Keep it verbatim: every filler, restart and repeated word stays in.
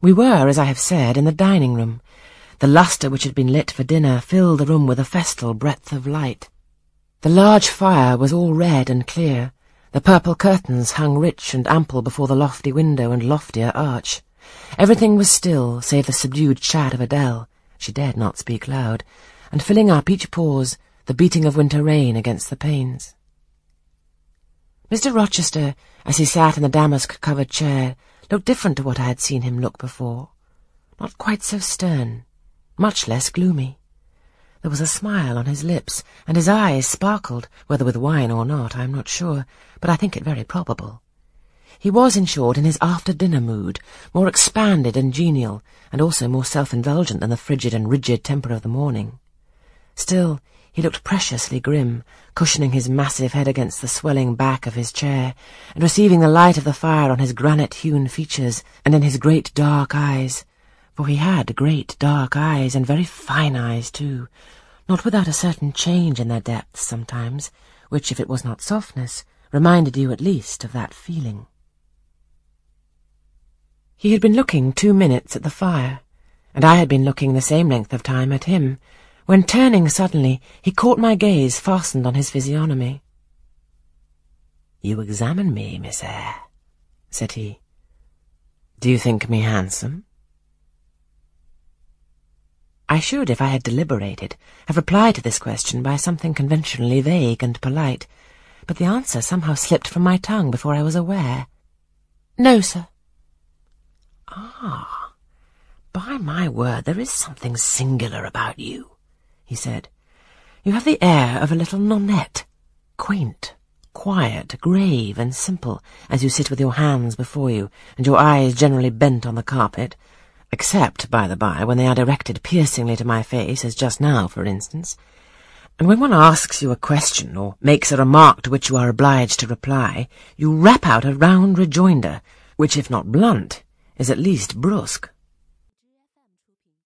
We were, as I have said, in the dining-room. The lustre which had been lit for dinner filled the room with a festal breadth of light. The large fire was all red and clear. The purple curtains hung rich and ample before the lofty window and loftier arch. Everything was still, save the subdued chat of Adele — she dared not speak loud — and filling up each pause, the beating of winter rain against the panes. Mister Rochester, as he sat in the damask-covered chair, looked different to what I had seen him look before. Not quite so stern, much less gloomy. There was a smile on his lips, and his eyes sparkled, whether with wine or not, I am not sure, but I think it very probable. He was, in short, in his after-dinner mood, more expanded and genial, and also more self-indulgent than the frigid and rigid temper of the morning. Still, he looked preciously grim, cushioning his massive head against the swelling back of his chair, and receiving the light of the fire on his granite-hewn features and in his great dark eyes, for he had great dark eyes, and very fine eyes too, not without a certain change in their depths sometimes, which, if it was not softness, reminded you at least of that feeling. He had been looking two minutes at the fire, and I had been looking the same length of time at him, when, turning suddenly, he caught my gaze fastened on his physiognomy. "You examine me, Miss Eyre," said he. "Do you think me handsome?" I should, if I had deliberated, have replied to this question by something conventionally vague and polite, but the answer somehow slipped from my tongue before I was aware. "No, sir." "Ah, by my word, there is something singular about you," he said. "You have the air of a little nonnette, quaint, quiet, grave, and simple, as you sit with your hands before you, and your eyes generally bent on the carpet, except, by-the-by, when they are directed piercingly to my face, as just now, for instance. And when one asks you a question, or makes a remark to which you are obliged to reply, you rap out a round rejoinder, which, if not blunt, is at least brusque.